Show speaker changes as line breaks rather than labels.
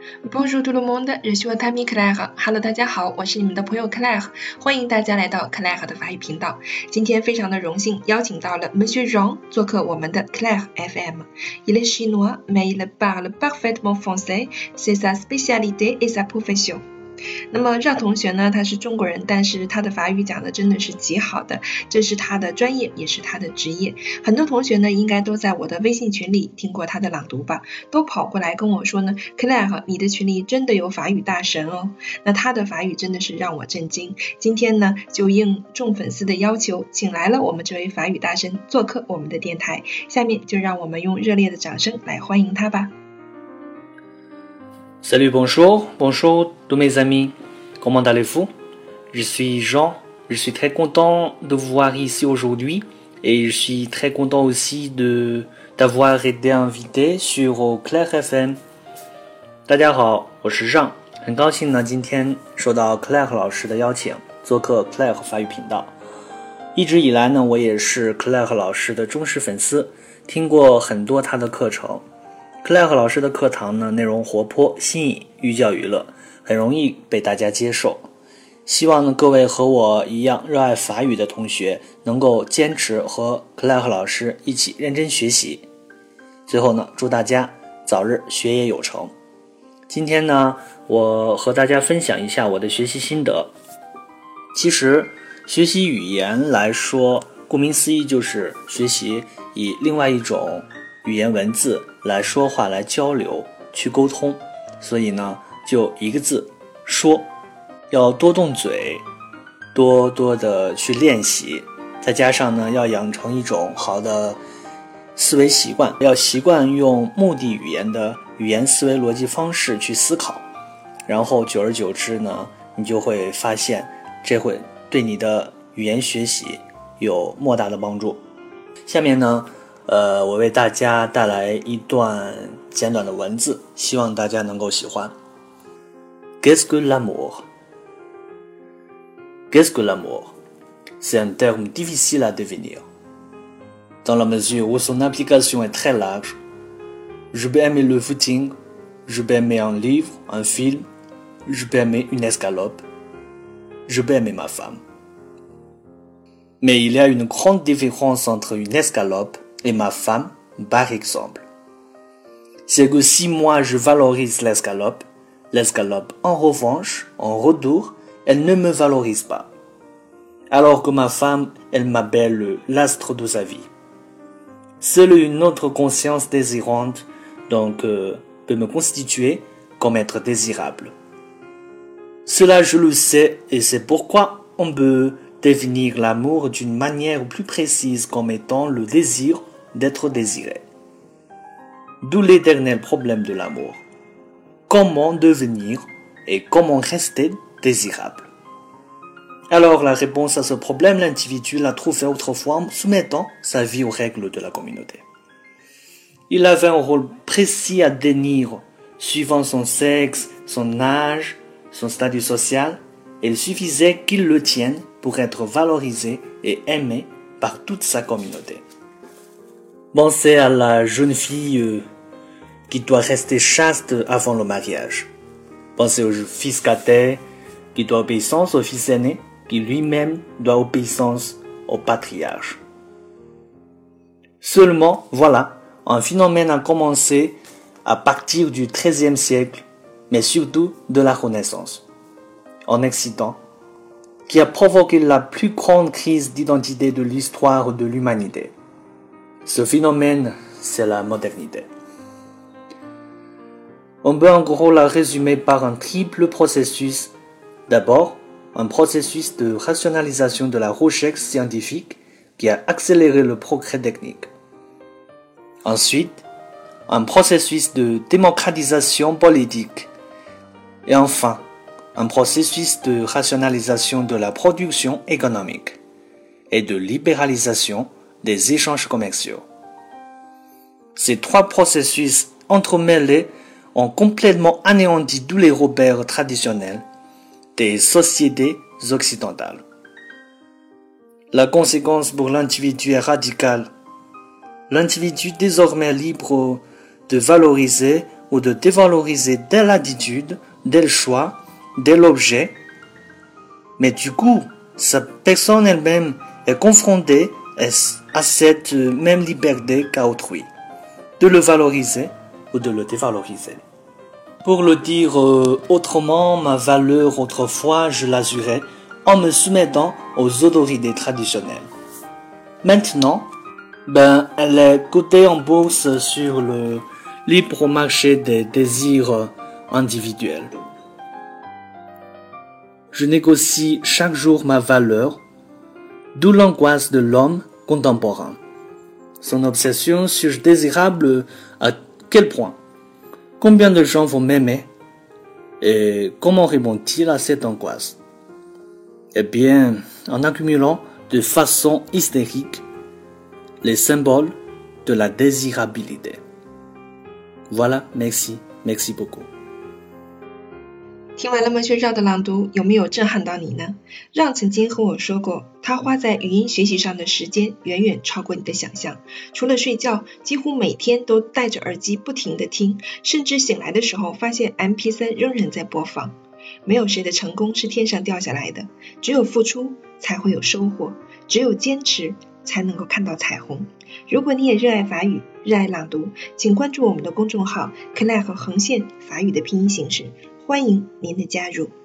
Bonjour tout le monde, je suis votre ami Claire. Hello， 大家好，我是你们的朋友 Claire， 欢迎大家来到 Claire 的法语频道。今天非常的荣幸邀请到了 Monsieur Jean 做客我们的 Claire FM。Il est chinois, mais il parle parfaitement français. C'est sa spécialité et sa profession. 那么让同学呢，他是中国人，但是他的法语讲的真的是极好的，这是他的专业，也是他的职业。很多同学呢，应该都在我的微信群里听过他的朗读吧，都跑过来跟我说呢 Claire， 你的群里真的有法语大神哦。那他的法语真的是让我震惊。今天呢，就应众粉丝的要求，请来了我们这位法语大神做客我们的电台。下面就让我们用热烈的掌声来欢迎他吧。
Salut, bonjour tous mes amis, comment allez-vous? Je suis Jean, je suis très content de vous voir ici aujourd'hui et je suis très content aussi d'avoir été invité sur Claire FM. 大家好，我是让，很高兴呢今天受到 Claire 老师的邀请，做客 Claire 法语频道。一直以来呢，我也是 Claire 老师的忠实粉丝，听过很多他的课程。Claire 老师的课堂呢，内容活泼新颖，寓教于乐，很容易被大家接受。希望呢各位和我一样热爱法语的同学能够坚持和 Claire 老师一起认真学习。最后呢，祝大家早日学业有成。今天呢，我和大家分享一下我的学习心得。其实学习语言来说，顾名思义就是学习以另外一种语言文字来说话，来交流，去沟通。所以呢，就一个字，说。要多动嘴，多多的去练习，再加上呢，要养成一种好的思维习惯，要习惯用目的语言的语言思维逻辑方式去思考，然后久而久之呢，你就会发现这会对你的语言学习有莫大的帮助。下面呢我为大家带来一段简短的文字，希望大家能够喜欢。Qu'est-ce que l'amour? Qu'est-ce que l'amour? C'est un terme difficile à définir, dans la mesure où son application est très large. Je peux aimer le footing, je peux aimer un livre, un film, je peux aimer une escalope, je peux aimer ma femme. Mais il y a une grande différence entre une escalope et ma femme, par exemple. C'est que si moi je valorise l'escalope, en revanche, en retour, elle ne me valorise pas. Alors que ma femme, elle m'appelle l'astre de sa vie. Seule une autre conscience désirante, donc, peut me constituer comme être désirable. Cela je le sais et c'est pourquoi on peut définir l'amour d'une manière plus précise comme étant le désir d'être désiré. D'où l'éternel problème de l'amour. Comment devenir et comment rester désirable. Alors la réponse à ce problème, l'individu l'a trouvé autrefois en soumettant sa vie aux règles de la communauté. Il avait un rôle précis à tenir, suivant son sexe, son âge, son statut social, et il suffisait qu'il le tienne pour être valorisé et aimé par toute sa communauté. Pensez à la jeune fille qui doit rester chaste avant le mariage. Pensez au fils cadet qui doit obéissance au fils aîné, qui lui-même doit obéissance au patriarche. Seulement, voilà, un phénomène a commencé à partir du XIIIe siècle, mais surtout de la Renaissance, en Occident, qui a provoqué la plus grande crise d'identité de l'histoire de l'humanité. Ce phénomène, c'est la modernité. On peut en gros la résumer par un triple processus. D'abord, un processus de rationalisation de la recherche scientifique qui a accéléré le progrès technique. Ensuite, un processus de démocratisation politique. Et enfin, un processus de rationalisation de la production économique et de libéralisation des échanges commerciaux. Ces trois processus entremêlés ont complètement anéanti tous les repères traditionnels des sociétés occidentales. La conséquence pour l'individu est radicale. L'individu désormais libre de valoriser ou de dévaloriser telle attitude, tel choix, tel objet. Mais du coup, sa personne elle-même est confrontée à cette même liberté qu'à autrui, de le valoriser ou de le dévaloriser. Pour le dire autrement, ma valeur autrefois, je l'assurais en me soumettant aux autorités traditionnelles. Maintenant, elle est cotée en bourse sur le libre marché des désirs individuels. Je négocie chaque jour ma valeur, d'où l'angoisse de l'homme contemporain. Son obsession surdésirable à quel point? Combien de gens vont m'aimer? Et comment répond-il à cette angoisse? Eh bien, en accumulant de façon hystérique les symboles de la désirabilité. Voilà, merci beaucoup.
听完了孟薛绕的朗读，有没有震撼到你呢？让曾经和我说过，他花在语音学习上的时间远远超过你的想象。除了睡觉，几乎每天都戴着耳机不停地听，甚至醒来的时候发现 MP3 仍然在播放。没有谁的成功是天上掉下来的，只有付出才会有收获，只有坚持才能够看到彩虹。如果你也热爱法语，热爱朗读，请关注我们的公众号 Claire 横线法语的拼音形式，欢迎您的加入。